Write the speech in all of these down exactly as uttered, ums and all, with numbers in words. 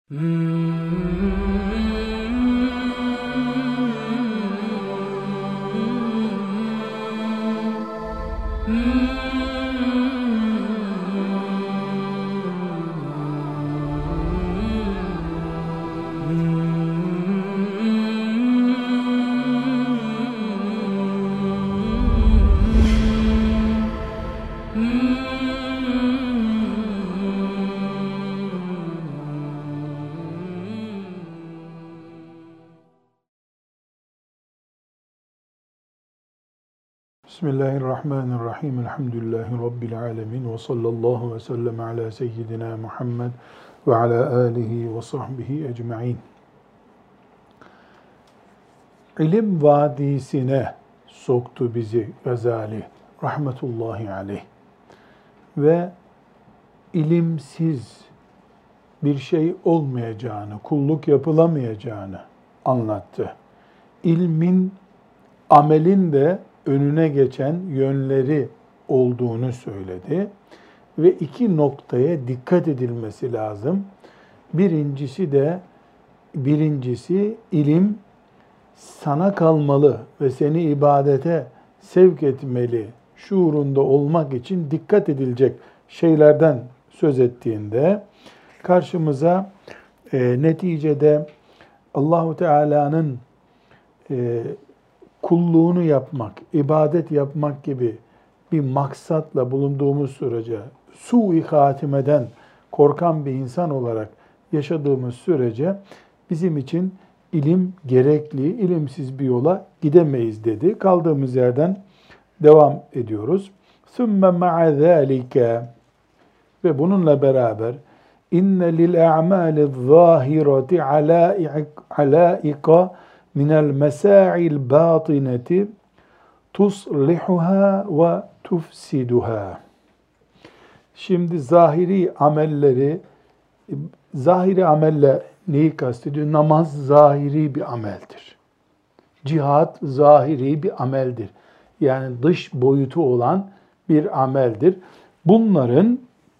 Bismillahirrahmanirrahim. Elhamdülillahi Rabbil alemin. Ve sallallahu ve sellem ala seyyidina Muhammed ve ala alihi ve sahbihi ecma'in. İlim vadisine soktu bizi Gazali rahmetullahi aleyh. Ve ilimsiz bir şey olmayacağını, kulluk yapılamayacağını anlattı. İlmin, amelin de önüne geçen yönleri olduğunu söyledi ve iki noktaya dikkat edilmesi lazım. Birincisi de birincisi ilim sana kalmalı ve seni ibadete sevk etmeli şuurunda olmak için dikkat edilecek şeylerden söz ettiğinde karşımıza e, neticede Allahu Teala'nın e, kulluğunu yapmak, ibadet yapmak gibi bir maksatla bulunduğumuz sürece, su-i hatimeden korkan bir insan olarak yaşadığımız sürece bizim için ilim gerekli, ilimsiz bir yola gidemeyiz dedi. Kaldığımız yerden devam ediyoruz. ثُمَّ مَعَ ذَٰلِكَ ve bununla beraber اِنَّ لِلْاَعْمَالِ الظَّاهِرَةِ عَلَائِقَ minel mesa'il batineti tuslihuha ve tufsiduha. Şimdi zahiri amelleri, zahiri amelle neyi kastediyor? Namaz zahiri bir ameldir. Cihat zahiri bir ameldir. Yani dış boyutu olan bir ameldir. Bunların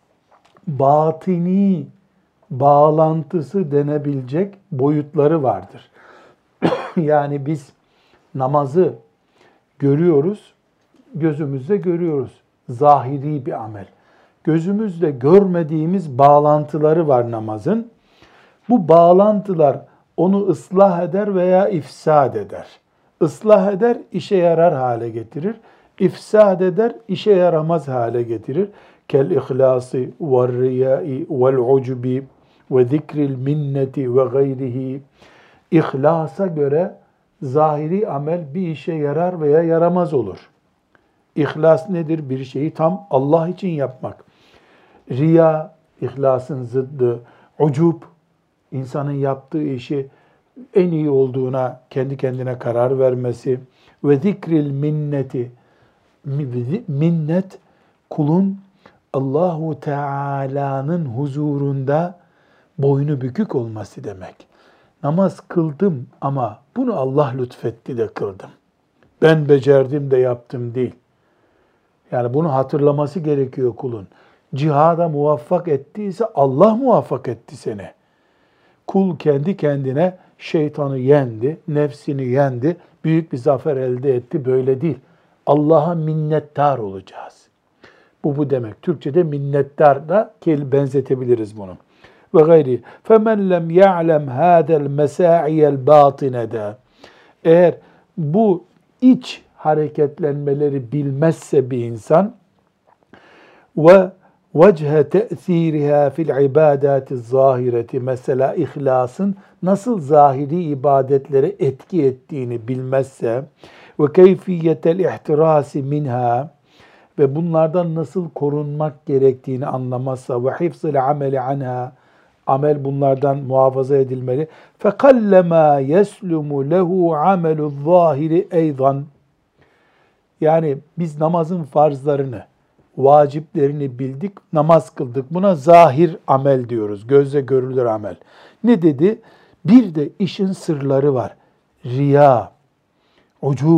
batini bağlantısı denebilecek boyutları vardır. Yani biz namazı görüyoruz, gözümüzle görüyoruz. Zahiri bir amel. Gözümüzle görmediğimiz bağlantıları var namazın. Bu bağlantılar onu ıslah eder veya ifsad eder. Islah eder, işe yarar hale getirir. İfsad eder, işe yaramaz hale getirir. Kel ihlası ve riyai vel ucbi ve zikril minneti ve gayrihi. İhlasa göre zahiri amel bir işe yarar veya yaramaz olur. İhlas nedir? Bir şeyi tam Allah için yapmak. Riya, ihlasın zıddı. Ucub, insanın yaptığı işi en iyi olduğuna kendi kendine karar vermesi. Ve zikril minneti, minnet kulun Allahu Teala'nın huzurunda boynu bükük olması demek. Namaz kıldım ama bunu Allah lütfetti de kıldım. Ben becerdim de yaptım değil. Yani bunu hatırlaması gerekiyor kulun. Cihada muvaffak ettiyse Allah muvaffak etti seni. Kul kendi kendine şeytanı yendi, nefsini yendi, büyük bir zafer elde etti. Böyle değil. Allah'a minnettar olacağız. Bu bu demek. Türkçe'de minnettar da benzetebiliriz bunu. Ve gayri. فَمَنْ لَمْ يَعْلَمْ هَذَا الْمَسَاعِيَ الْبَاطِنَةَ Eğer bu iç hareketlenmeleri bilmezse bir insan ve vechhe te'thiriha fil ibadati zahireti mesela ihlasın nasıl zahiri ibadetlere etki ettiğini bilmezse ve keyfiyetel ihtirasi minha ve bunlardan nasıl korunmak gerektiğini anlamazsa ve hifzil ameli anha amel bunlardan muhafaza edilmeli. فَقَلَّمَا يَسْلُمُ لَهُ عَمَلُ الظَّاهِرِ اَيْضًا Yani biz namazın farzlarını, vaciplerini bildik, namaz kıldık. Buna zahir amel diyoruz, gözle görülür amel. Ne dedi? Bir de işin sırları var. Riya, ucub,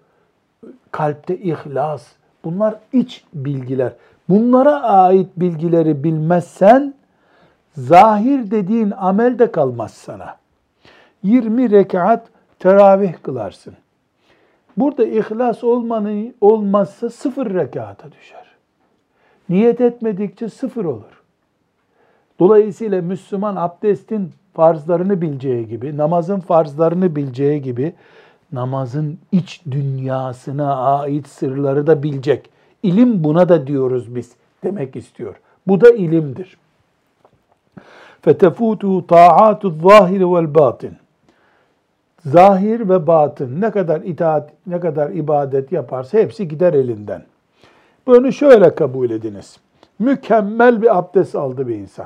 kalpte ihlas. Bunlar iç bilgiler. Bunlara ait bilgileri bilmezsen Zahir dediğin amel de kalmaz sana. yirmi rekat teravih kılarsın. Burada ihlas olmanı, olmazsa sıfır rekata düşer. Niyet etmedikçe sıfır olur. Dolayısıyla Müslüman abdestin farzlarını bileceği gibi, namazın farzlarını bileceği gibi, namazın iç dünyasına ait sırları da bilecek. İlim buna da diyoruz biz demek istiyor. Bu da ilimdir. فَتَفُوتُهُ طَاعَاتُ الظَّاهِرِ وَالْبَاطِنِ Zahir ve batın ne kadar itaat, ne kadar ibadet yaparsa hepsi gider elinden. Bunu şöyle kabul ediniz. Mükemmel bir abdest aldı bir insan.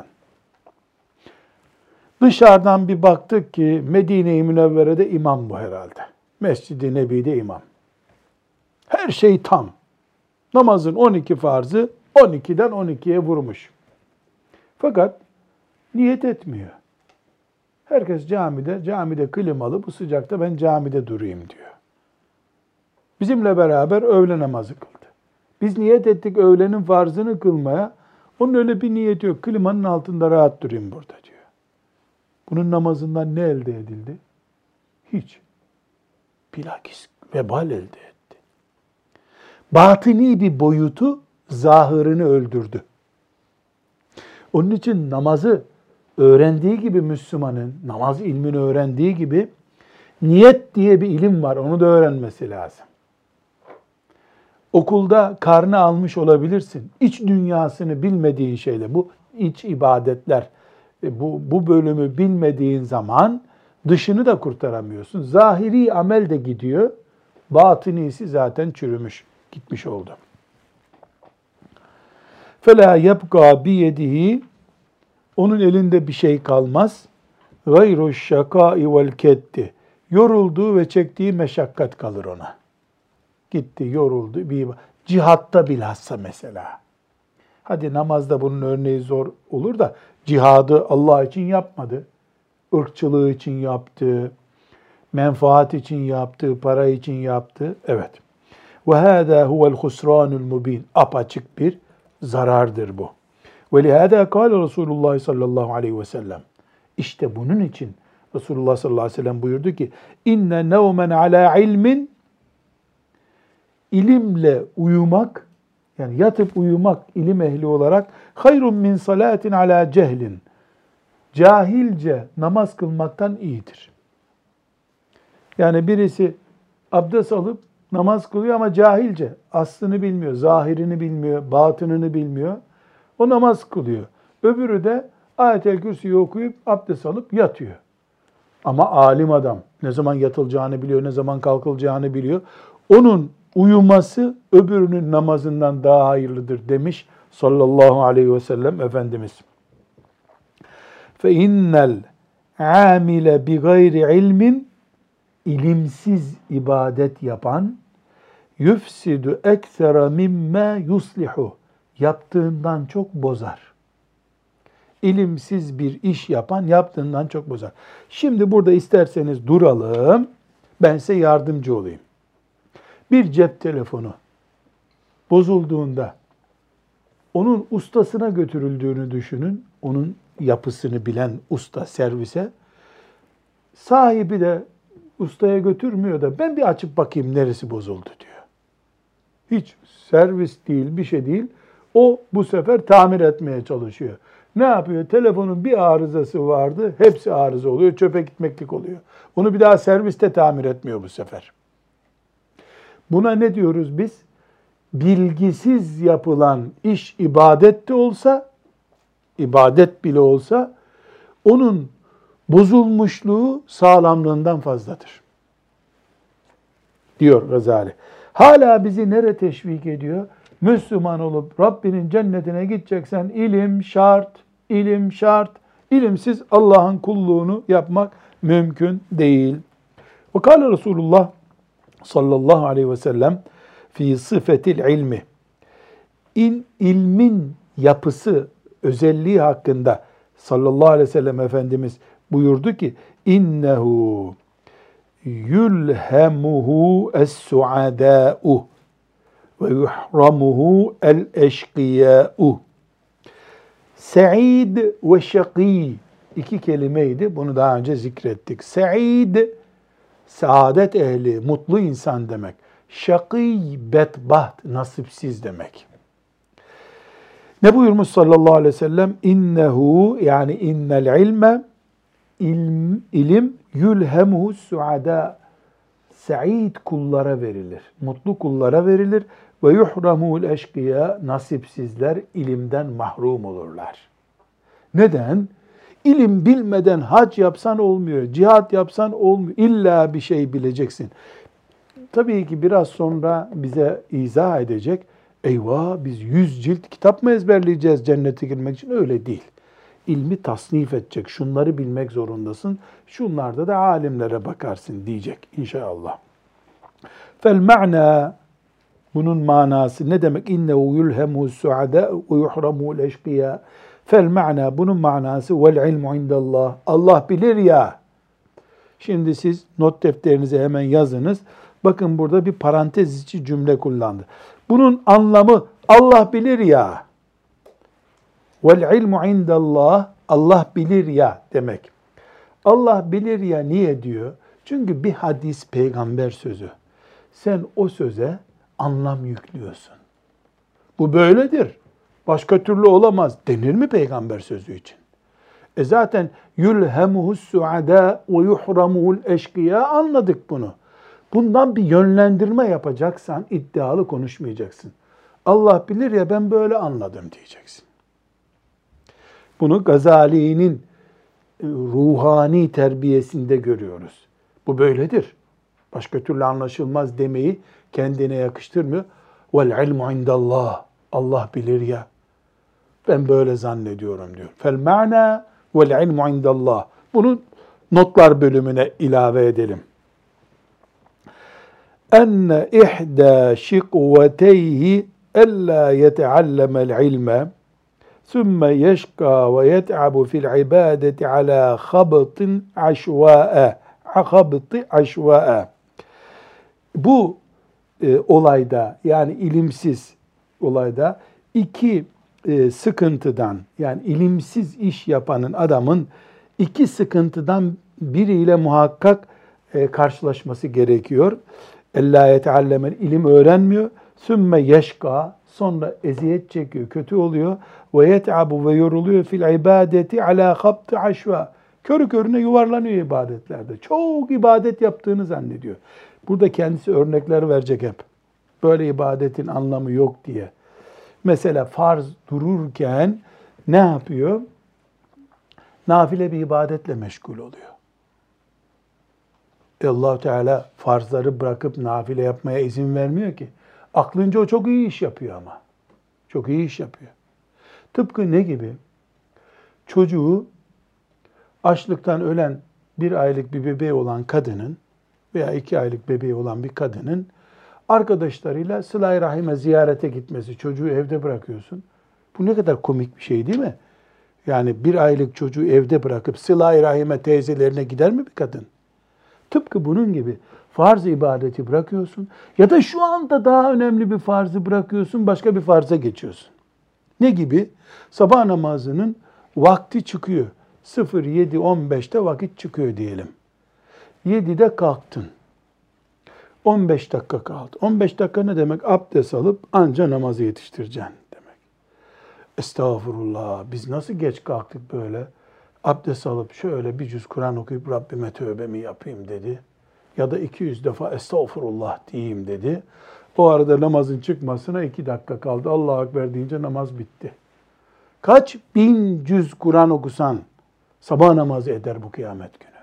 Dışarıdan bir baktık ki Medine-i Münevvere'de imam bu herhalde. Mescid-i Nebi'de imam. Her şey tam. Namazın on iki farzı on ikiden on ikiye vurmuş. Fakat niyet etmiyor. Herkes camide, camide klimalı, bu sıcakta ben camide durayım diyor. Bizimle beraber öğle namazı kıldı. Biz niyet ettik öğlenin farzını kılmaya. Onun öyle bir niyeti yok. Klimanın altında rahat durayım burada diyor. Bunun namazından ne elde edildi? Hiç. Bilakis vebal elde etti. Batini bir boyutu zahırını öldürdü. Onun için namazı öğrendiği gibi Müslümanın, namaz ilmini öğrendiği gibi niyet diye bir ilim var. Onu da öğrenmesi lazım. Okulda karnı almış olabilirsin. İç dünyasını bilmediğin şeyle, bu iç ibadetler, bu, bu bölümü bilmediğin zaman dışını da kurtaramıyorsun. Zahiri amel de gidiyor. Batınisi zaten çürümüş, gitmiş oldu. فَلَا يَبْقَى بِيَدِهِ Onun elinde bir şey kalmaz. غَيْرُ الشَّقَاءِ وَالْكَدِّ Yorulduğu ve çektiği meşakkat kalır ona. Gitti, yoruldu. Bir cihatta bilhassa mesela. Hadi namazda bunun örneği zor olur da cihadı Allah için yapmadı. Irkçılığı için yaptı. Menfaat için yaptı. Para için yaptı. Evet. وَهَذَا هُوَ الْخُسْرَانُ الْمُب۪ينَ Apaçık bir zarardır bu. وَلِهَذَا قَالَ Resulullah sallallahu aleyhi ve sellem İşte bunun için Resulullah sallallahu aleyhi ve sellem buyurdu ki inne nevmen ala ilmin ilimle uyumak, yani yatıp uyumak ilim ehli olarak hayrun min salatin ala cehlin cahilce namaz kılmaktan iyidir. Yani birisi abdest alıp namaz kılıyor ama cahilce, aslını bilmiyor, zahirini bilmiyor, batınını bilmiyor. O namaz kılıyor. Öbürü de Ayet-el Kürsi'yi okuyup abdest alıp yatıyor. Ama alim adam ne zaman yatılacağını biliyor, ne zaman kalkılacağını biliyor. Onun uyuması öbürünün namazından daha hayırlıdır demiş sallallahu aleyhi ve sellem Efendimiz. فَاِنَّ الْعَامِلَ بِغَيْرِ ilmin ilimsiz ibadet yapan yufsidu eksera mimma yuslihu yaptığından çok bozar. İlimsiz bir iş yapan yaptığından çok bozar. Şimdi burada isterseniz duralım. Ben size yardımcı olayım. Bir cep telefonu bozulduğunda onun ustasına götürüldüğünü düşünün. Onun yapısını bilen usta servise. Sahibi de ustaya götürmüyor da ben bir açıp bakayım neresi bozuldu diyor. Hiç servis değil, bir şey değil. O bu sefer tamir etmeye çalışıyor. Ne yapıyor? Telefonun bir arızası vardı. Hepsi arıza oluyor. Çöpe gitmeklik oluyor. Onu bir daha serviste tamir etmiyor bu sefer. Buna ne diyoruz biz? Bilgisiz yapılan iş ibadet de olsa, ibadet bile olsa, onun bozulmuşluğu sağlamlığından fazladır. Diyor Gazali. Hala bizi nereye teşvik ediyor? Müslüman olup Rabbinin cennetine gideceksen ilim şart, ilim şart. İlimsiz Allah'ın kulluğunu yapmak mümkün değil. Ve kâle Resulullah sallallahu aleyhi ve sellem fi sıfetil ilmi. İn, ilmin yapısı, özelliği hakkında sallallahu aleyhi ve sellem Efendimiz buyurdu ki innehu yulhemuhu es-suadâ'u ve yuhramuhu el-eşkıyâ'u. Se'id ve şakî iki kelimeydi. Bunu daha önce zikrettik. Se'id, saadet ehli, mutlu insan demek. Şakî, bedbaht, nasipsiz demek. Ne buyurmuş sallallahu aleyhi ve sellem? İnnehu, yani innel ilme, ilm, ilim yülhemuhu suada, sa'id kullara verilir, mutlu kullara verilir. Ve yuhramul eşkıya, nasipsizler ilimden mahrum olurlar. Neden? İlim bilmeden hac yapsan olmuyor, cihat yapsan olmuyor. İlla bir şey bileceksin. Tabii ki biraz sonra bize izah edecek. Eyvah, biz yüz cilt kitap mı ezberleyeceğiz cennete girmek için? Öyle değil. İlmi tasnif edecek. Şunları bilmek zorundasın. Şunlarda da alimlere bakarsın diyecek inşallah. Fel ma'na, bunun manası ne demek? İnnehu yulhemu suada ve yuhramu eşkıya. Fel ma'na, bunun manası vel ilmu indallah. Allah bilir ya. Şimdi siz not defterinize hemen yazınız. Bakın burada bir parantez içi cümle kullandı. Bunun anlamı Allah bilir ya. Vel ilmu indallah, Allah bilir ya demek. Allah bilir ya niye diyor? Çünkü bir hadis peygamber sözü. Sen o söze anlam yüklüyorsun. Bu böyledir. Başka türlü olamaz denir mi peygamber sözü için? E zaten yulhemuhus suada ve yuhramuhul eşkıya, anladık bunu. Bundan bir yönlendirme yapacaksan iddialı konuşmayacaksın. Allah bilir ya, ben böyle anladım diyeceksin. Bunu Gazali'nin ruhani terbiyesinde görüyoruz. Bu böyledir. Başka türlü anlaşılmaz demeyi kendine yakıştırmıyor. Vel ilmu indallah. Allah bilir ya. Ben böyle zannediyorum diyor. Fel ma'na vel ilmu indallah. Bunu notlar bölümüne ilave edelim. Enne ihda şikveteyhi ella yeteallemel ilme sümme yeşka ve yet'abu fil ibadeti ala khabıtin aşvâe. Khabıtı aşvâe. Bu e, olayda, yani ilimsiz olayda iki e, sıkıntıdan, yani ilimsiz iş yapanın adamın iki sıkıntıdan biriyle muhakkak e, karşılaşması gerekiyor. Ellâ yeteallemel, ilim öğrenmiyor. Sümme yeşka, sonra eziyet çekiyor, kötü oluyor. Ve yet'abu, ve yoruluyor fil ibadeti ala khabtı aşva. Körü körüne yuvarlanıyor ibadetlerde. Çok ibadet yaptığını zannediyor. Burada kendisi örnekler verecek hep. Böyle ibadetin anlamı yok diye. Mesela farz dururken ne yapıyor? Nafile bir ibadetle meşgul oluyor. E Allah-u Teala farzları bırakıp nafile yapmaya izin vermiyor ki. Aklınca o çok iyi iş yapıyor ama. Çok iyi iş yapıyor. Tıpkı ne gibi? Çocuğu açlıktan ölen bir aylık bir bebeği olan kadının veya iki aylık bebeği olan bir kadının arkadaşlarıyla sıla-i rahime ziyarete gitmesi, çocuğu evde bırakıyorsun. Bu ne kadar komik bir şey değil mi? Yani bir aylık çocuğu evde bırakıp sıla-i rahime teyzelerine gider mi bir kadın? Tıpkı bunun gibi farz ibadeti bırakıyorsun ya da şu anda daha önemli bir farzı bırakıyorsun, başka bir farza geçiyorsun. Ne gibi? Sabah namazının vakti çıkıyor. sıfır yedi on beşte vakit çıkıyor diyelim. yedide kalktın. on beş dakika kaldı. on beş dakika ne demek? Abdest alıp anca namazı yetiştireceksin demek. Estağfurullah, biz nasıl geç kalktık böyle? Abdest alıp şöyle bir cüz Kur'an okuyup Rabbime tövbemi yapayım dedi. Ya da iki yüz defa estağfurullah diyeyim dedi. O arada namazın çıkmasına iki dakika kaldı. Allahu Ekber deyince namaz bitti. Kaç bin cüz Kur'an okusan sabah namazı eder bu kıyamet günü.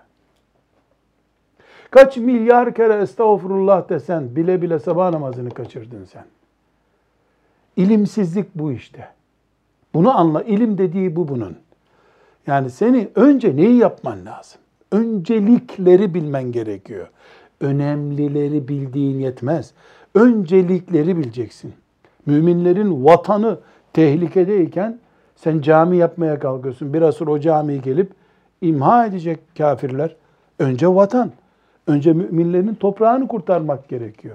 Kaç milyar kere estağfurullah desen bile bile sabah namazını kaçırdın sen. İlimsizlik bu işte. Bunu anla. İlim dediği bu bunun. Yani seni önce neyi yapman lazım? Öncelikleri bilmen gerekiyor. Önemlileri bildiğin yetmez. Öncelikleri bileceksin. Müminlerin vatanı tehlikedeyken sen cami yapmaya kalkıyorsun. Biraz sonra o camiyi gelip imha edecek kafirler. Önce vatan. Önce müminlerin toprağını kurtarmak gerekiyor.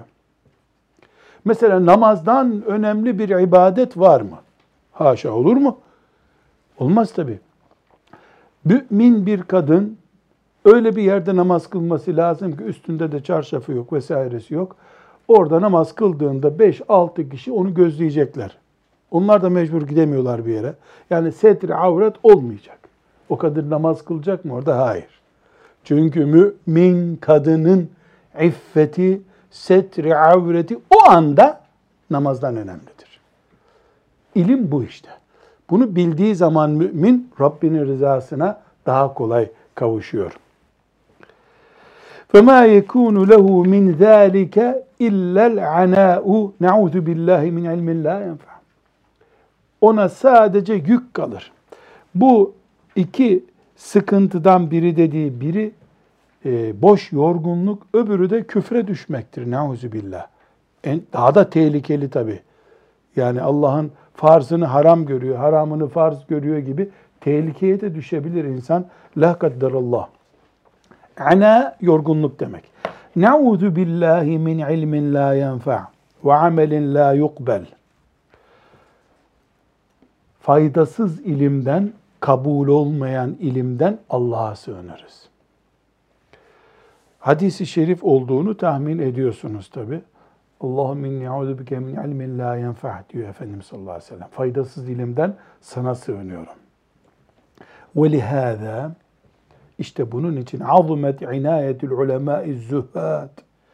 Mesela namazdan önemli bir ibadet var mı? Haşa, olur mu? Olmaz tabii. Mümin bir kadın öyle bir yerde namaz kılması lazım ki üstünde de çarşafı yok vesairesi yok. Orada namaz kıldığında beş altı kişi onu gözleyecekler. Onlar da mecbur gidemiyorlar bir yere. Yani setri avret olmayacak. O kadın namaz kılacak mı orada? Hayır. Çünkü mümin kadının iffeti, setri avreti o anda namazdan önemlidir. İlim bu işte. Bunu bildiği zaman mümin Rabbinin rızasına daha kolay kavuşuyor. فَمَا يَكُونُ لَهُ مِنْ ذَٰلِكَ اِلَّا الْعَنَاءُ نَعُوذُ بِاللّٰهِ مِنْ عِلْمٍ لَا يَنْفَعُ. Ona sadece yük kalır. Bu iki sıkıntıdan biri dediği biri e, boş yorgunluk, öbürü de küfre düşmektir. Nauzu billah. En, daha da tehlikeli tabii. Yani Allah'ın farzını haram görüyor, haramını farz görüyor gibi tehlikeye de düşebilir insan. La kadderallah. Ana yorgunluk demek. Nauzu billahi min ilmin la yenfa ve amelin la yukbel. Faydasız ilimden, kabul olmayan ilimden Allah'a sığınırız. Hadis-i şerif olduğunu tahmin ediyorsunuz tabi. Allahümme inni a'udhu bike min ilmin la yenfa diyor Efendimiz sallallahu aleyhi ve sellem. Faydasız ilimden sana sığınıyorum. Ve lihâzâ, işte bunun için azumet inâyetül ulemâ'i zühhâd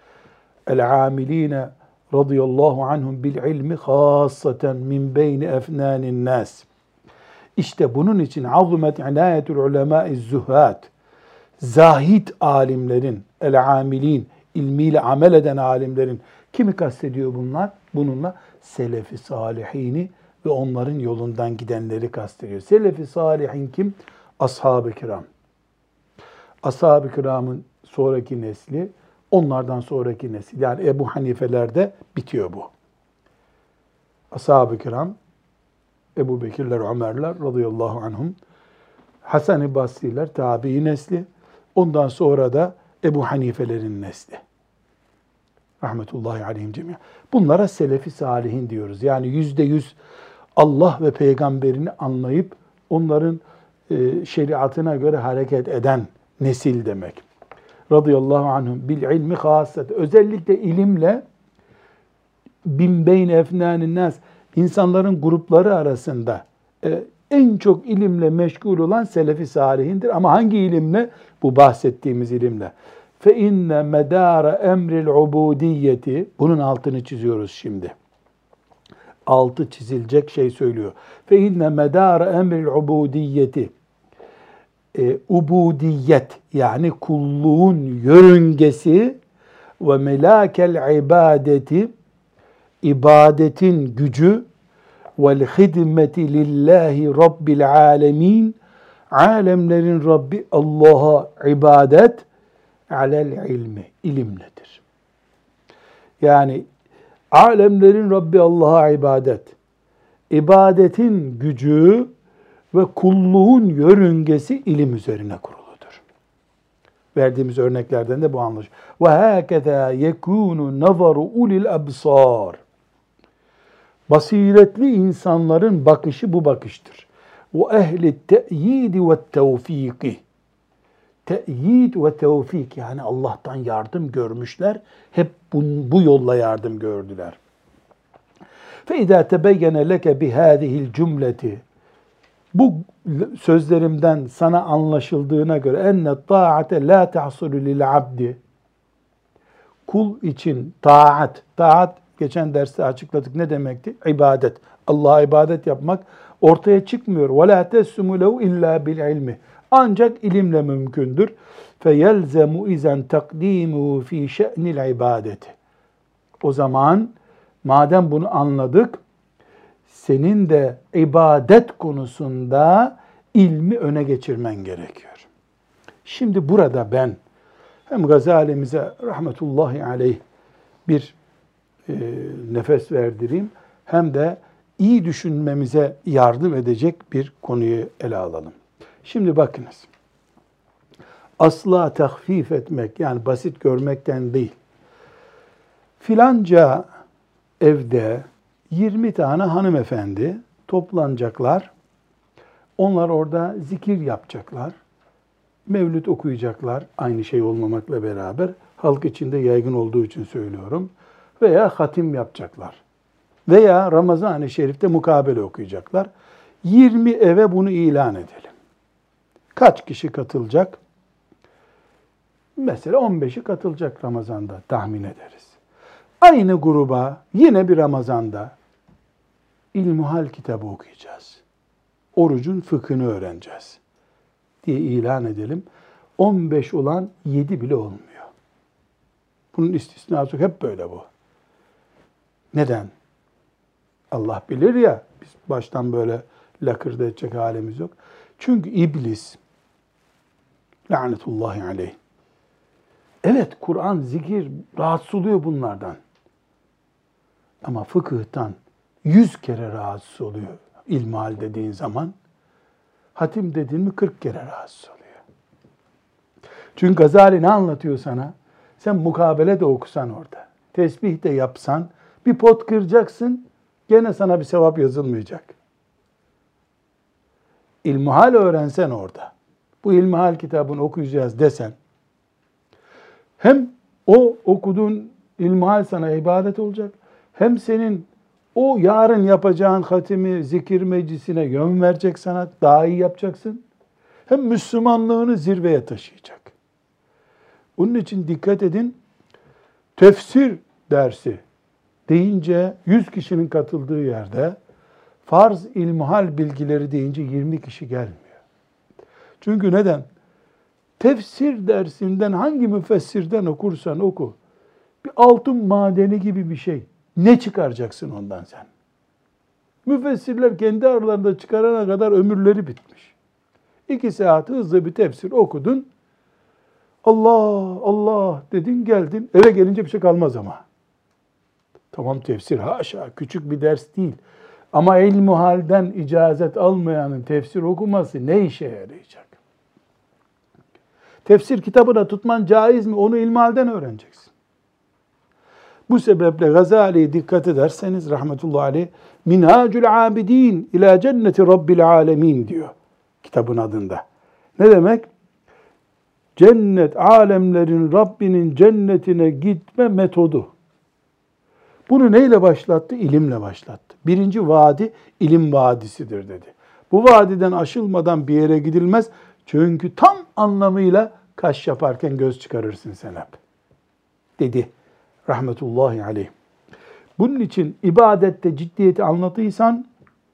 el-âmilîne radıyallahu anhum bil ilmi khâssaten min beyni efnânin nâs. İşte bunun için azumet inâyetül ulemâ'i zühhâd, zahid alimlerin, el-amilin, ilmiyle amel eden alimlerin, kimi kastediyor bunlar? Bununla selef-i salihini ve onların yolundan gidenleri kastediyor. Selef-i salihin kim? Ashab-ı kiram. Ashab-ı kiramın sonraki nesli, onlardan sonraki nesil. Yani Ebu Hanifeler'de bitiyor bu. Ashab-ı kiram, Ebu Bekirler, Ömerler radıyallahu anhum, Hasan-ı Basri'ler, tabi'i nesli, ondan sonra da Ebu Hanifelerin nesli. Rahmetullahi aleyhim cemiyen. Bunlara selefi salihin diyoruz. Yani yüzde yüz Allah ve peygamberini anlayıp onların e, şeriatına göre hareket eden nesil demek. Radıyallahu anhum bil ilmi hasset. Özellikle ilimle bin beyn efnânin nas, insanların grupları arasında e, en çok ilimle meşgul olan selefi salihindir. Ama hangi ilimle? Bu bahsettiğimiz ilimle. Fe inne medara emril ubudiyeti, bunun altını çiziyoruz şimdi. Altı çizilecek şey söylüyor. Fe inne medara emril ubudiyeti, e, ubudiyet yani kulluğun yörüngesi ve melakel ibadeti, ibadetin gücü vel hidmeti lillahi rabbil alemin, alemlerin Rabbi Allah'a ibadet alel ilmi, ilimledir. Yani alemlerin Rabbi Allah'a ibadet, ibadetin gücü ve kulluğun yörüngesi ilim üzerine kuruludur. Verdiğimiz örneklerden de bu anlaşılıyor. Ve hâkezâ yekûnu nazaru ulil absâr. Basiretli insanların bakışı bu bakıştır. Ve ehli te'yidi ve tevfiki. Te'yid ve tevfik, yani Allah'tan yardım görmüşler. Hep bu, bu yolla yardım gördüler. فَاِذَا تَبَيَّنَ لَكَ بِهَذِهِ الْجُمْلَةِ, bu sözlerimden sana anlaşıldığına göre enne ta'ate la tahsulu lil abdi, kul için taat, taat geçen derste açıkladık ne demekti? İbadet. Allah'a ibadet yapmak ortaya çıkmıyor. Ve la tessumu lehu illa bil ilmi. Ancak ilimle mümkündür. Feyelzemu izen takdimuhu fi şe'nil ibadeti. O zaman madem bunu anladık, senin de ibadet konusunda ilmi öne geçirmen gerekiyor. Şimdi burada ben hem Gazali'mize rahmetullahi aleyh bir e, nefes verdireyim, hem de iyi düşünmemize yardım edecek bir konuyu ele alalım. Şimdi bakınız, asla tahfif etmek, yani basit görmekten değil. Filanca evde yirmi tane hanımefendi toplanacaklar. Onlar orada zikir yapacaklar. Mevlüt okuyacaklar. Aynı şey olmamakla beraber. Halk içinde yaygın olduğu için söylüyorum. Veya hatim yapacaklar. Veya Ramazan-ı Şerif'te mukabele okuyacaklar. yirmi eve bunu ilan edelim. Kaç kişi katılacak? Mesela on beşi katılacak Ramazan'da tahmin ederiz. Aynı gruba yine bir Ramazan'da İlmihal kitabı okuyacağız. Orucun fıkhını öğreneceğiz diye ilan edelim. on beş olan yedi bile olmuyor. Bunun istisnası hep böyle bu. Neden? Allah bilir ya, biz baştan böyle lakırdı edecek halimiz yok. Çünkü iblis, lanetullahi aleyh, evet Kur'an, zikir rahatsız oluyor bunlardan. Ama fıkıhtan yüz kere rahatsız oluyor ilmihal dediğin zaman. Hatim dediğin mi kırk kere rahatsız oluyor. Çünkü Gazali ne anlatıyor sana? Sen mukabele de okusan orada, tesbih de yapsan, bir pot kıracaksın, gene sana bir sevap yazılmayacak. İlmihal öğrensen orada, bu ilmihal kitabını okuyacağız desen, hem o okuduğun ilmihal sana ibadet olacak, hem senin o yarın yapacağın hatimi, zikir meclisine yön verecek sana, daha iyi yapacaksın. Hem Müslümanlığını zirveye taşıyacak. Onun için dikkat edin, tefsir dersi deyince yüz kişinin katıldığı yerde, farz ilmihal bilgileri deyince yirmi kişi gelmiyor. Çünkü neden? Tefsir dersinden hangi müfessirden okursan oku, bir altın madeni gibi bir şey. Ne çıkaracaksın ondan sen? Müfessirler kendi aralarında çıkarana kadar ömürleri bitmiş. İki saat hızlı bir tefsir okudun. Allah, Allah dedin, geldin. Eve gelince bir şey kalmaz ama. Tamam, tefsir haşa, küçük bir ders değil. Ama ilmihalden icazet almayanın tefsir okuması ne işe yarayacak? Tefsir kitabını tutman caiz mi? Onu ilmihalden öğreneceksin. Bu sebeple Gazali'ye dikkat ederseniz rahmetullahi aleyh, Minhacul Abidin ila Cenneti Rabbil Alemin diyor kitabın adında. Ne demek? Cennet, alemlerin Rabbinin cennetine gitme metodu. Bunu neyle başlattı? İlimle başlattı. Birinci vadi ilim vadisidir dedi. Bu vadiden aşılmadan bir yere gidilmez. Çünkü tam anlamıyla kaş yaparken göz çıkarırsın sen hep. Dedi rahmetullahi aleyh. Bunun için ibadette ciddiyeti anlatıysan,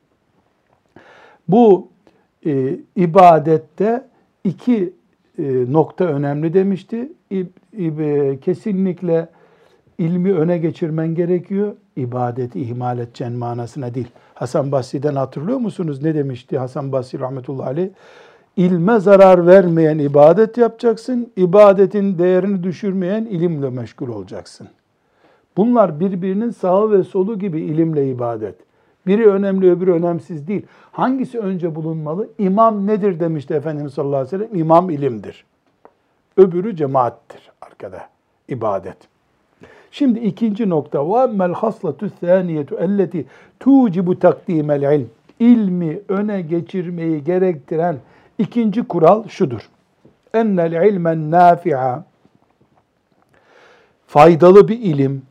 bu e, ibadette iki e, nokta önemli demişti. İb, ib, kesinlikle ilmi öne geçirmen gerekiyor. İbadeti ihmal edeceğin manasına değil. Hasan Basri'den hatırlıyor musunuz? Ne demişti Hasan Basri rahmetullahi aleyh? İlme zarar vermeyen ibadet yapacaksın. İbadetin değerini düşürmeyen ilimle meşgul olacaksın. Bunlar birbirinin sağı ve solu gibi ilimle ibadet. Biri önemli, öbürü önemsiz değil. Hangisi önce bulunmalı? İmam nedir demişti Efendimiz sallallahu aleyhi ve sellem? İmam ilimdir. Öbürü cemaattir arkada, ibadet. Şimdi ikinci nokta. وَاَمَّا الْخَصْلَةُ الثَّانِيَةُ اَلَّتِي تُوْجِبُ تَقْدِيمَ الْعِلْمِ İlmi öne geçirmeyi gerektiren ikinci kural şudur. اَنَّ الْعِلْمَ النَّافِعَ Faydalı bir ilim,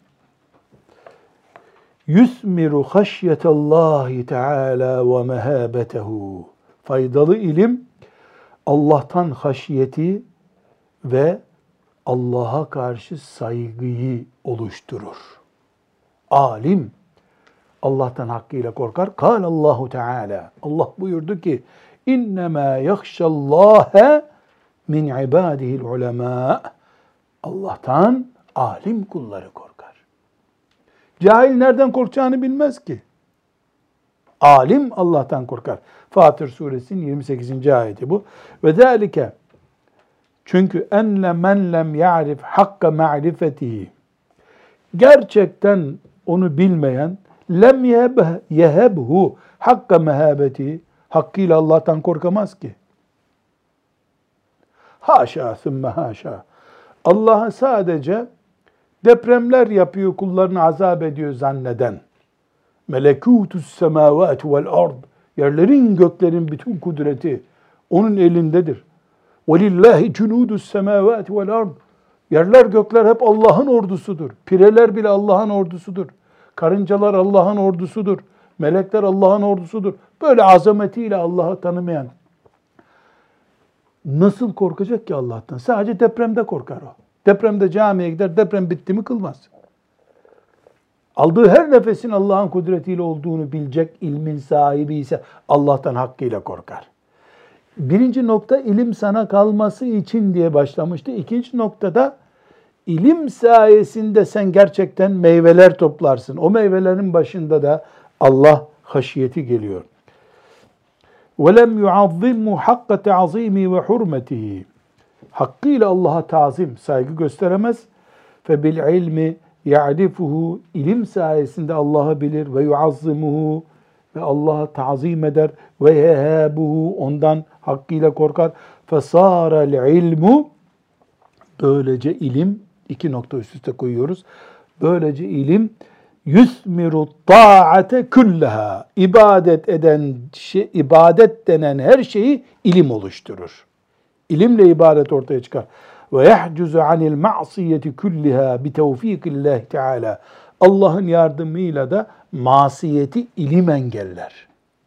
yusmiru haşyetallahi teala ve mehabetehu. Faydalı ilim Allah'tan haşyeti ve Allah'a karşı saygıyı oluşturur. Alim Allah'tan hakkıyla korkar. Kâlallahu Teala. Allah buyurdu ki: İnnemâ yahşallâhe min ibâdihil ulemâ. Allah'tan alim kulları korkar. Cahil nereden korkacağını bilmez ki. Alim Allah'tan korkar. Fatır suresinin yirmi sekizinci ayeti bu. Ve zâlike, çünkü enne men lem ya'rif hakka ma'rifetihi, gerçekten onu bilmeyen, lem yehebhu hakka mehabeti, hakkıyla Allah'tan korkamaz ki. Haşa sümme haşa. Allah'a sadece depremler yapıyor, kullarını azap ediyor zanneden, melekutus semavati vel ard, Yerlerin göklerin bütün kudreti onun elindedir. وَلِلَّهِ جُنُودُ السَّمَاوَاتِ وَالْاَرْضِ Yerler gökler hep Allah'ın ordusudur. Pireler bile Allah'ın ordusudur. Karıncalar Allah'ın ordusudur. Melekler Allah'ın ordusudur. Böyle azametiyle Allah'ı tanımayan nasıl korkacak ki Allah'tan? Sadece depremde korkar o. Depremde camiye gider, deprem bitti mi kılmaz. Aldığı her nefesin Allah'ın kudretiyle olduğunu bilecek ilmin sahibi ise Allah'tan hakkıyla korkar. Birinci nokta ilim sana kalması için diye başlamıştı. İkinci noktada ilim sayesinde sen gerçekten meyveler toplarsın. O meyvelerin başında da Allah haşiyeti geliyor. وَلَمْ يُعَظِّمُ حَقَّ تَعْظِيمِ وَحُرْمَتِهِ Hakkıyla Allah'a tazim, saygı gösteremez. فَبِالْعِلْمِ يَعْرِفُهُ İlim sayesinde Allah'ı bilir ve yuazzimuhu ve Allah'a tazim eder ve yehabuhu ondan hakkıyla korkar. فَصَارَ الْعِلْمُ Böylece ilim, iki nokta üst üste koyuyoruz. Böylece ilim yusmiru ta'ate kullaha ibadet eden şey, ibadet denen her şeyi ilim oluşturur. İlimle ibadet ortaya çıkar. Ve yahcuzu anil ma'siyeti kulliha bi tevfikillah Teala. Allah'ın yardımıyla da masiyeti ilim engeller.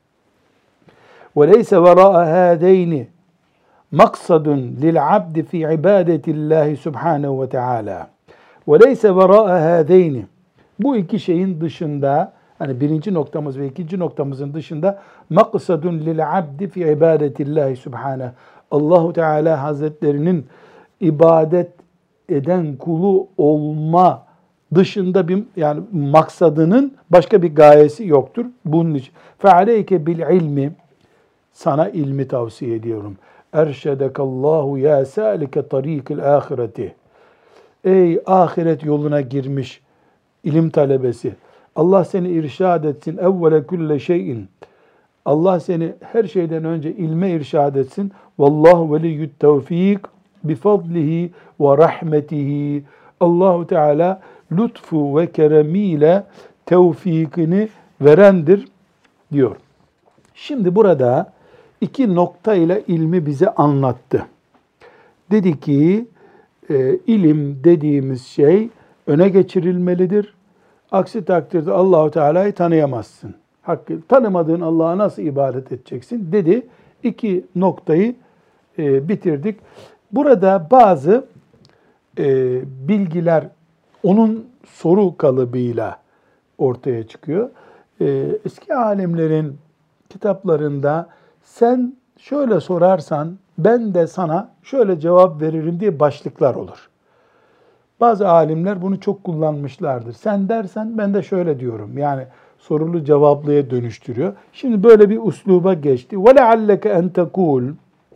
Ve leyse vera'a hâzeyni maksadun lil abdi fi ibadetillahi subhanehu ve teala. Ve leyse vera'a hâzeyni Bu iki şeyin dışında, hani birinci noktamız ve ikinci noktamızın dışında maksadun lil abdi fi ibadetillahi subhanahu. Allahu Teala Hazretlerinin ibadet eden kulu olma dışında bir yani maksadının başka bir gayesi yoktur. Bunun için fealeyke bil ilmi sana ilmi tavsiye ediyorum. Erşedekallahu ya salike tarikil ahireti. Ey ahiret yoluna girmiş İlim talebesi. Allah seni irşad etsin. Evvele külle şeyin. Allah seni her şeyden önce ilme irşad etsin. Vallahu veliyyut tevfik bifadlihi ve rahmetihi. Allahu Teala lütfu ve keremiyle tevfikini verendir diyor. Şimdi burada iki nokta ile ilmi bize anlattı. Dedi ki e, ilim dediğimiz şey öne geçirilmelidir. Aksi takdirde Allahu Teala'yı tanıyamazsın. Hakkı tanımadığın Allah'a nasıl ibadet edeceksin dedi. İki noktayı e, bitirdik. Burada bazı e, bilgiler onun soru kalıbıyla ortaya çıkıyor. E, eski alimlerin kitaplarında sen şöyle sorarsan ben de sana şöyle cevap veririm diye başlıklar olur. Bazı alimler bunu çok kullanmışlardır. Sen dersen ben de şöyle diyorum. Yani sorulu cevaplıya dönüştürüyor. Şimdi böyle bir usluba geçti. وَلَعَلَّكَ اَنْ تَقُولُ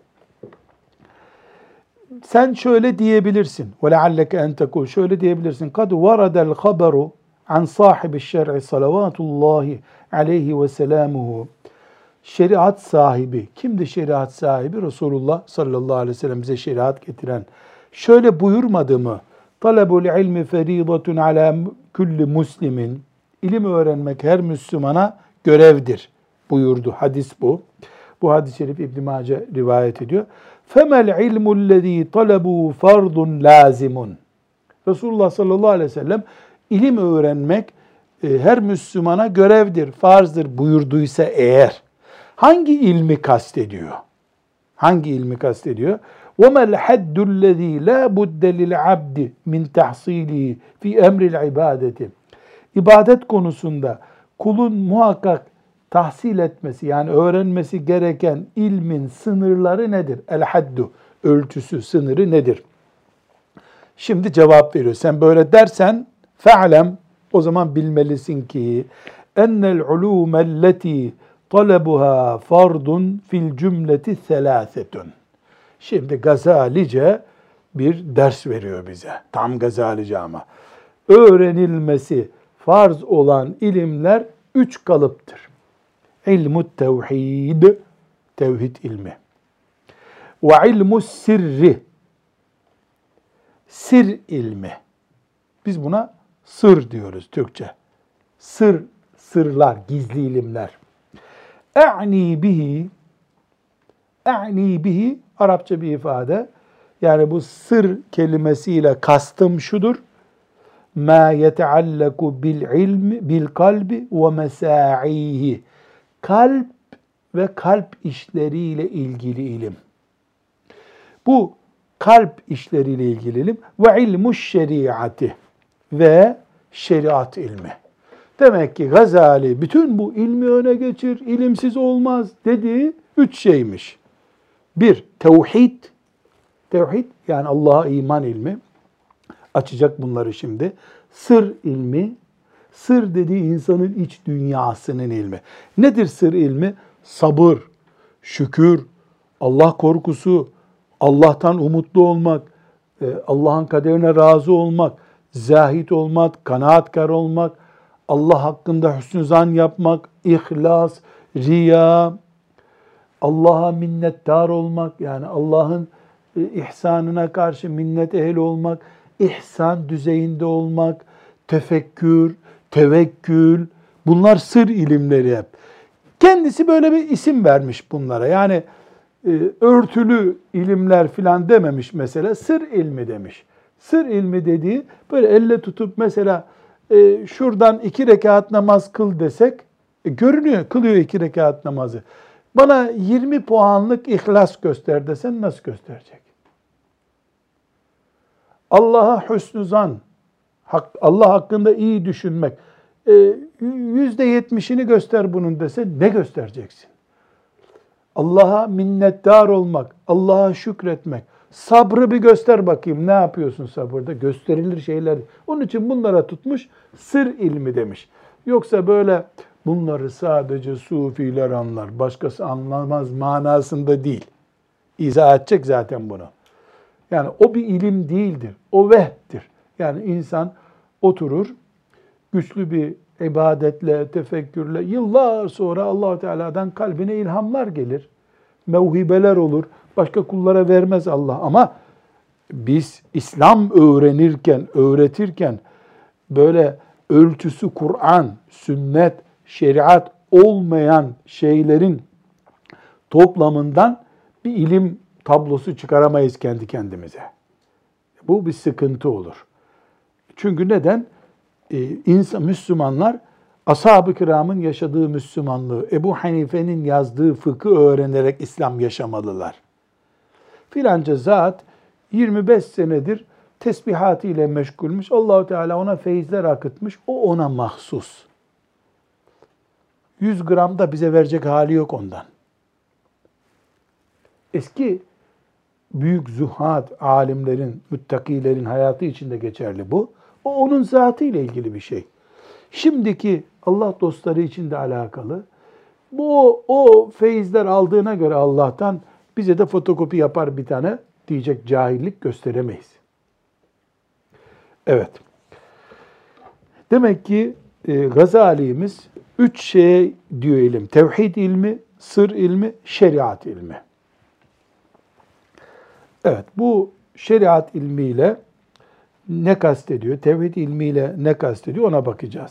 Sen şöyle diyebilirsin. وَلَعَلَّكَ اَنْ تَقُولُ Şöyle diyebilirsin. قَدْ وَرَدَ الْخَبَرُ عَنْ صَاحِبِ الشَّرْعِ صَلَوَاتُ اللّٰهِ عَلَيْهِ وَسَلَامُهُ Şeriat sahibi. Kimdi şeriat sahibi? Resulullah sallallahu aleyhi ve sellem bize şeriat getiren. Şöyle buyurmadı mı? Talabul ilmi feridatun ala kulli muslimin. İlim öğrenmek her Müslümana görevdir buyurdu. Hadis bu. Bu hadis-i şerif İbn Mace rivayet ediyor. Femel ilmu'llezî talabu fardun lazimun. Resulullah sallallahu aleyhi ve sellem ilim öğrenmek e, her Müslümana görevdir, farzdır buyurduysa eğer hangi ilmi kastediyor? Hangi ilmi kastediyor? وَمَا الْحَدُّ الَّذ۪ي لَا بُدَّ لِلْعَبْدِ مِنْ تَحْصِيلِهِ فِي اَمْرِ الْعِبَادَةِ İbadet konusunda kulun muhakkak tahsil etmesi yani öğrenmesi gereken ilmin sınırları nedir? El-haddu, ölçüsü, sınırı nedir? Şimdi cevap veriyor. Sen böyle dersen fe'lem, o zaman bilmelisin ki ennel ulûmelleti talabuha fardun fil cümleti selâsetun. Şimdi Gazalice bir ders veriyor bize. Tam Gazalice ama. Öğrenilmesi farz olan ilimler üç kalıptır. İlmut tevhid, tevhid ilmi. Ve ilmus sirri, sir ilmi. Biz buna sır diyoruz Türkçe. Sır, sırlar, gizli ilimler. E'ni bihi, e'ni bihi Arapça bir ifade. Yani bu sır kelimesiyle kastım şudur. Ma yeteallaku bil ilmi bil kalbi ve mesaihi. Kalp ve kalp işleriyle ilgili ilim. Bu kalp işleriyle ilgili ilim ve ilmuş şeriatı ve şeriat ilmi. Demek ki Gazali bütün bu ilmi öne geçir, ilimsiz olmaz dediği üç şeymiş. Bir, tevhid. Tevhid yani Allah'a iman ilmi. Açacak bunları şimdi. Sır ilmi. Sır dediği insanın iç dünyasının ilmi. Nedir sır ilmi? Sabır, şükür, Allah korkusu, Allah'tan umutlu olmak, Allah'ın kaderine razı olmak, zahid olmak, kanaatkar olmak, Allah hakkında hüsnü zan yapmak, ihlas, riya, Allah'a minnettar olmak, yani Allah'ın ihsanına karşı minnet ehli olmak, ihsan düzeyinde olmak, tefekkür, tevekkül, bunlar sır ilimleri hep. Kendisi böyle bir isim vermiş bunlara. Yani e, örtülü ilimler filan dememiş mesela, sır ilmi demiş. Sır ilmi dediği böyle elle tutup mesela e, şuradan iki rekat namaz kıl desek, e, görünüyor, kılıyor iki rekat namazı. Bana yirmi puanlık ihlas göster desen nasıl gösterecek? Allah'a hüsnü zan, Allah hakkında iyi düşünmek, yüzde yetmişini göster bunun dese ne göstereceksin? Allah'a minnettar olmak, Allah'a şükretmek, sabrı bir göster bakayım, ne yapıyorsun sabırda? Gösterilir şeyler. Onun için bunlara tutmuş, sır ilmi demiş. Yoksa böyle bunları sadece sufiler anlar, başkası anlamaz manasında değil. İzah edecek zaten bunu. Yani o bir ilim değildir, o vehbdir. Yani insan oturur, güçlü bir ibadetle, tefekkürle, yıllar sonra Allah Teala'dan kalbine ilhamlar gelir. Mevhibeler olur. Başka kullara vermez Allah. Ama biz İslam öğrenirken, öğretirken böyle ölçüsü Kur'an, sünnet, şeriat olmayan şeylerin toplamından bir ilim tablosu çıkaramayız kendi kendimize. Bu bir sıkıntı olur. Çünkü neden? Ee, insan, Müslümanlar ashab-ı kiramın yaşadığı Müslümanlığı, Ebu Hanife'nin yazdığı fıkı öğrenerek İslam yaşamalılar. Filanca zat yirmi beş senedir tesbihatıyla meşgulmüş. Allah-u Teala ona feyizler akıtmış. O ona mahsus. yüz gram da bize verecek hali yok ondan. Eski büyük zuhad alimlerin, müttakilerin hayatı içinde geçerli bu. O onun zatıyla ilgili bir şey. Şimdiki Allah dostları için de alakalı. Bu o, o feyizler aldığına göre Allah'tan bize de fotokopi yapar bir tane diyecek cahillik gösteremeyiz. Evet. Demek ki e, Gazali'miz üç şeye diyor ilim. Tevhid ilmi, sır ilmi, şeriat ilmi. Evet, bu şeriat ilmiyle ne kastediyor? Tevhid ilmiyle ne kastediyor? Ona bakacağız.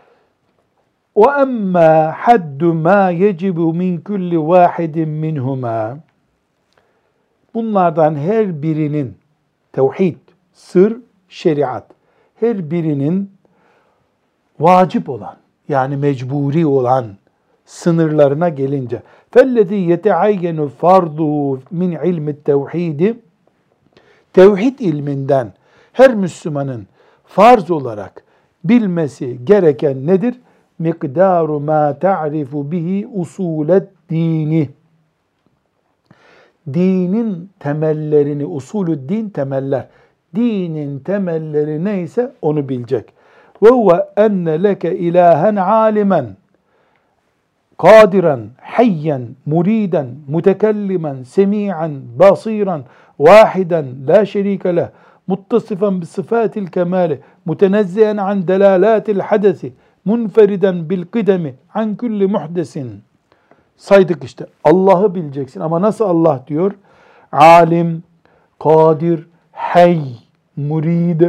وَأَمَّا حَدُّ مَا يَجِبُ مِنْ كُلِّ وَاحِدٍ مِنْهُمَا Bunlardan her birinin tevhid, sır, şeriat, her birinin vacip olan, yani mecburi olan sınırlarına gelince فَالَّذ۪ي يَتَعَيَّنُ فَرْضُهُ مِنْ عِلْمِ التَّوْحِيدِ Tevhid ilminden her Müslümanın farz olarak bilmesi gereken nedir? Mikdaru ma ta'rifu bihi usulet dini. Dinin temellerini, usulü din temeller. Dinin temelleri neyse onu bilecek. Ve huve enne leke ilahen alimen kadiran, hayyen, muriden, mutekellimen, semi'an, basiran, vahiden, la şerike leh, muttasifan bi sıfatil kemali, mutenezzihen an delalatil hadesi, munferiden bil kıdemi, an kulli muhdesin. Saydık işte. Allah'ı bileceksin ama nasıl Allah diyor? Alim, kadir, hay, murid,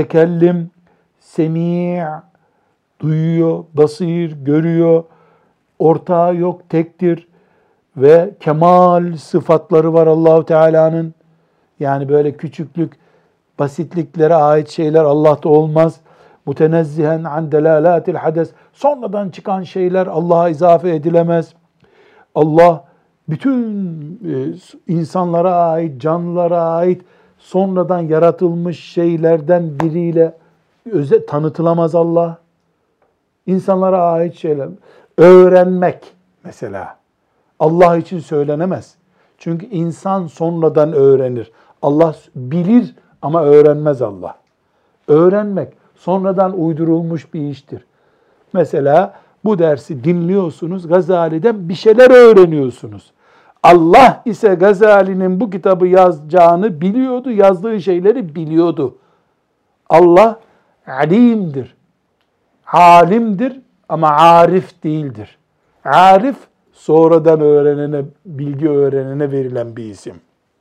mutekellim, semi' duyuyor, basir, görüyor, ortağı yok, tektir ve kemal sıfatları var Allahu Teala'nın. Yani böyle küçüklük, basitliklere ait şeyler Allah'ta olmaz. Mutenezzihen an delalatil hades. Sonradan çıkan şeyler Allah'a izafe edilemez. Allah bütün e, insanlara ait, canlılara ait sonradan yaratılmış şeylerden biriyle öze, tanıtılamaz Allah. İnsanlara ait şeyler. Öğrenmek mesela Allah için söylenemez. Çünkü insan sonradan öğrenir. Allah bilir ama öğrenmez Allah. Öğrenmek sonradan uydurulmuş bir iştir. Mesela bu dersi dinliyorsunuz, Gazali'den bir şeyler öğreniyorsunuz. Allah ise Gazali'nin bu kitabı yazacağını biliyordu, yazdığı şeyleri biliyordu. Allah alimdir, alimdir ama arif değildir. Arif, sonradan öğrenene, bilgi öğrenene verilen bir isim.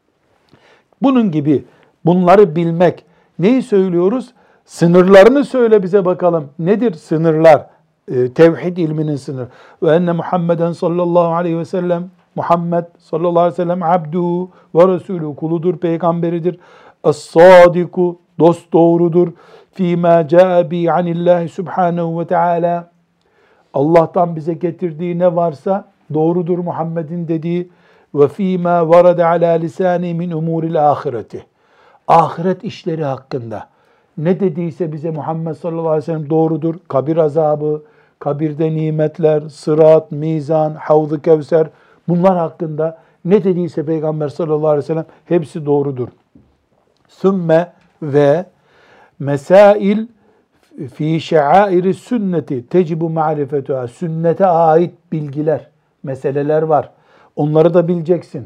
Bunun gibi bunları bilmek. Neyi söylüyoruz? Sınırlarını söyle bize bakalım. Nedir sınırlar? Ee, tevhid ilminin sınırı. Ve enne Muhammeden sallallahu aleyhi ve sellem, Muhammed sallallahu aleyhi ve sellem abduhu ve resulü, kuludur, peygamberidir. Es-sadiku, dost doğrudur. Fîmâ câe bi anillahi subhanehu ve teâlâ. Allah'tan bize getirdiği ne varsa doğrudur Muhammed'in dediği. Ve fîmâ varade alâ lisâni min umûril âhireti. Ahiret işleri hakkında ne dediyse bize Muhammed sallallahu aleyhi ve sellem doğrudur. Kabir azabı, kabirde nimetler, sırat, mizan, havz-ı kevser, bunlar hakkında ne dediyse Peygamber sallallahu aleyhi ve sellem hepsi doğrudur. Sümme ve mesail fi şe'airi sünneti tecibu ma'rifetuha. Sünnete ait bilgiler, meseleler var. Onları da bileceksin.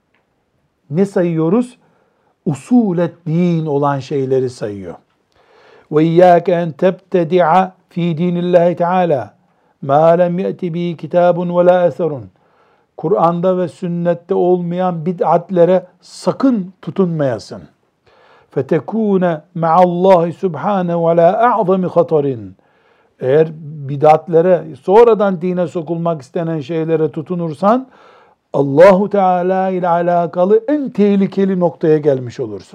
Ne sayıyoruz? Usulet din olan şeyleri sayıyor. Ve iyyâke en tebtedi'a fî dînillâhi teâlâ mâ lem ye'ti bihi kitâbun ve lâ eserun. Kur'an'da ve sünnette olmayan bid'atlere sakın tutunmayasın. فَتَكُونَ مَعَ اللّٰهِ سُبْحَانَهُ وَلَا اَعْظَمِ خَطَرٍ. Eğer bid'atlere, sonradan dine sokulmak istenen şeylere tutunursan, Allahu Teala ile alakalı en tehlikeli noktaya gelmiş olursun.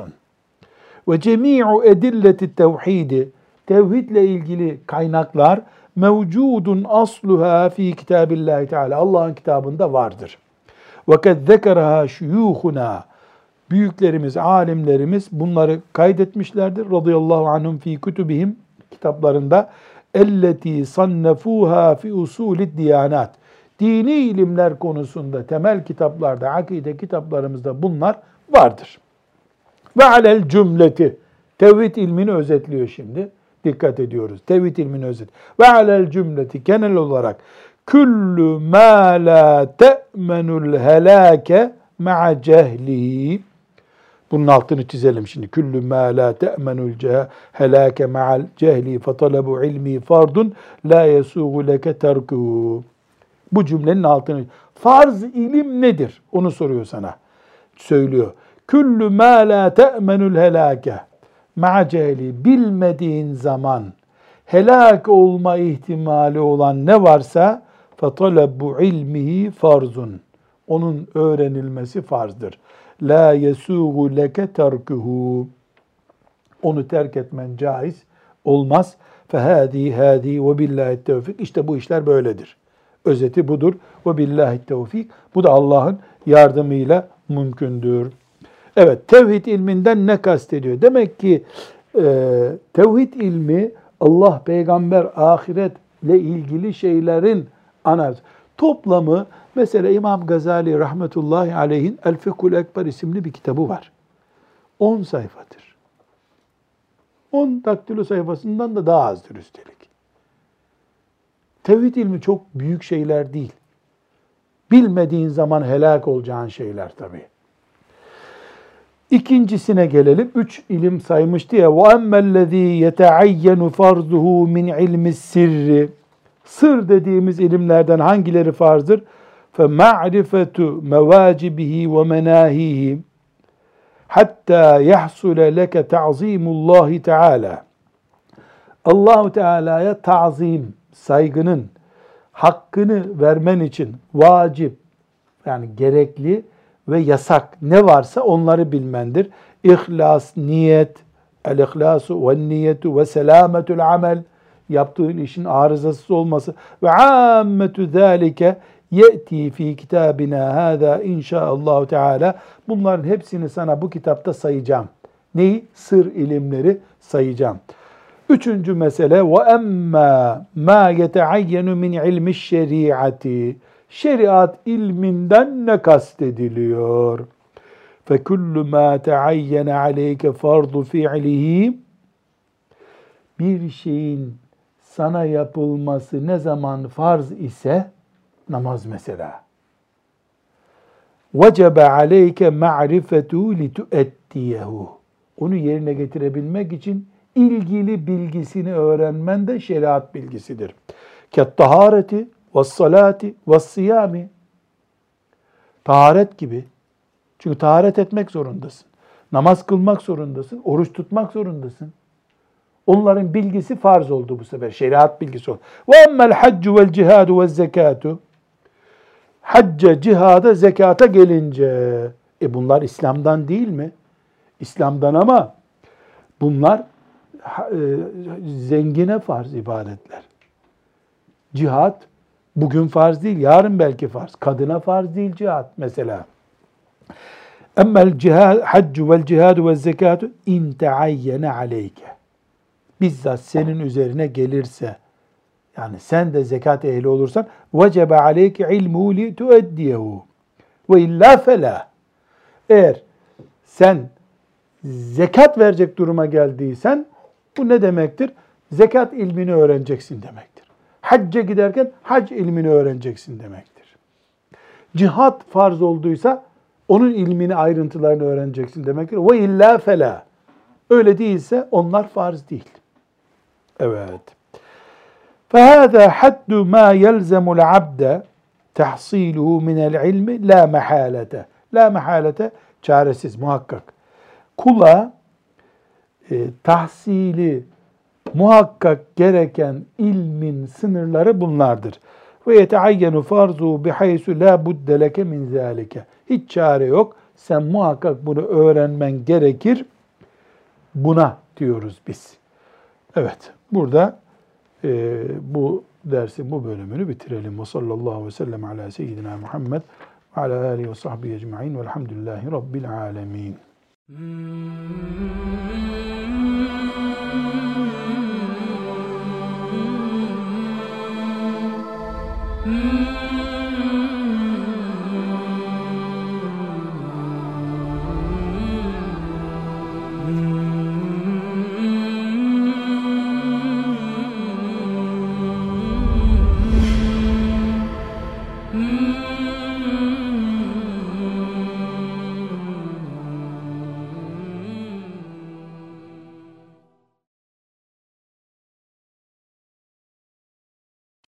Ve cemi'u edilleti tevhidi, tevhidle ilgili kaynaklar mevcudun asluha fi kitabillahi Teala. Allah'ın kitabında vardır. Ve kad zekeraha şuyuhuna, büyüklerimiz, alimlerimiz bunları kaydetmişlerdir. Radıyallahu anhum fi kutubihim, kitaplarında. Elleti sannefuha fi usulid diyanat. Dini ilimler konusunda temel kitaplarda, akide kitaplarımızda bunlar vardır. Ve alel cümleti. Tevhid ilmini özetliyor şimdi. Dikkat ediyoruz. Tevhid ilmini özet. Ve alel cümleti genel olarak küllü mâ lâ te'menul helâke ma'a cehlihi. Bunun altını çizelim şimdi. Küllü mâ lâ te'menul helâke ma'al cehli fe talebu ilmi fardun lâ yesûgu leke terkuhu. Bu cümlenin altını. Farz ilim nedir? Onu soruyor sana. Söylüyor. Küllü mâ lâ te'menul helâke ma'a cehli. Bilmediğin zaman helak olma ihtimali olan ne varsa فَطَلَبُ ilmihi farzun. Onun öğrenilmesi farzdır. La yesuğu leke terkuhu. Onu terk etmen caiz olmaz. Fehâdî hâdî ve billâhi tevfik. İşte bu işler böyledir. Özeti budur. Ve billâhi tevfik. Bu da Allah'ın yardımıyla mümkündür. Evet, tevhid ilminden ne kastediyor? Demek ki e, tevhid ilmi Allah, peygamber, ahiretle ilgili şeylerin analizi. Toplamı, mesela İmam Gazali rahmetullahi aleyhin El Fıkhul Ekber isimli bir kitabı var. on sayfadır. on daktilo sayfasından da daha azdır üstelik. Tevhid ilmi çok büyük şeyler değil. Bilmediğin zaman helak olacağın şeyler tabii. İkincisine gelelim. Üç ilim saymıştı ya. وَاَمَّا الَّذ۪ي يَتَعَيَّنُ فَرْضُهُ مِنْ عِلْمِ السِّرِّ. Sır dediğimiz ilimlerden hangileri farzdır? فَمَعْرِفَةُ مَوَاجِبِهِ وَمَنَاهِهِ hatta yahsule leke ta'zimullahi Teala. Allahu Teala'ya ta'zim, saygının hakkını vermen için vacip, yani gerekli ve yasak ne varsa onları bilmendir. İhlas, niyet, el-ihlasu ve niyetu ve selametul amel, yaptığın işin arızasız olması ve ammetu zâlike ye'ti fi kitabina hâzâ inşaallahu teâlâ. Bunların hepsini sana bu kitapta sayacağım. Neyi? Sır ilimleri sayacağım. Üçüncü mesele ve emmâ mâ yeteayyenu min ilmi şeriati. Şeriat ilminden ne kastediliyor? Fekullu mâ teayyene aleyke fardu fi'lihi. Bir şeyin sana yapılması ne zaman farz ise, namaz mesela, vecebe aleyke ma'rifetu lituettiyehu. Onu yerine getirebilmek için ilgili bilgisini öğrenmen de şeriat bilgisidir. Kettahareti ve's-salati ve's-siyami. Taharet gibi. Çünkü taharet etmek zorundasın. Namaz kılmak zorundasın. Oruç tutmak zorundasın. Onların bilgisi farz oldu bu sefer. Şeriat bilgisi oldu. Ve emmel haccu vel cihadu ve zekatu. Hacca, cihada, zekata gelince, e bunlar İslam'dan değil mi? İslam'dan ama bunlar e, zengine farz ibadetler. Cihat bugün farz değil, yarın belki farz. Kadına farz değil cihat mesela. Emmel cihad, haccu vel cihadu ve zekatu in teayyene aleyke. Bizzat senin üzerine gelirse, yani sen de zekat ehli olursan, vecebe aleyke ilmuhu li tueddiyehu ve illa fela. Eğer sen zekat verecek duruma geldiysen, bu ne demektir? Zekat ilmini öğreneceksin demektir. Hacca giderken hac ilmini öğreneceksin demektir. Cihat farz olduysa, onun ilmini, ayrıntılarını öğreneceksin demektir. Ve illa fela. Öyle değilse onlar farz değil. Evet. فَهَذَا حَدُّ مَا يَلْزَمُ الْعَبْدَ تَحْصِيلُهُ مِنَ الْعِلْمِ لَا مَحَالَةَ. La mehalete, çaresiz, muhakkak. Kula e, tahsili muhakkak gereken ilmin sınırları bunlardır. Ve yeteayyenu farzu bihaysu la budde leke min zalike. Hiç çare yok. Sen muhakkak bunu öğrenmen gerekir. Buna diyoruz biz. Evet, burada e, bu dersin bu bölümünü bitirelim. Ve sallallahu aleyhi ve sellem ala seyyidina Muhammed ve ala alihi ve sahbihi ecma'in velhamdülillahi rabbil alemin.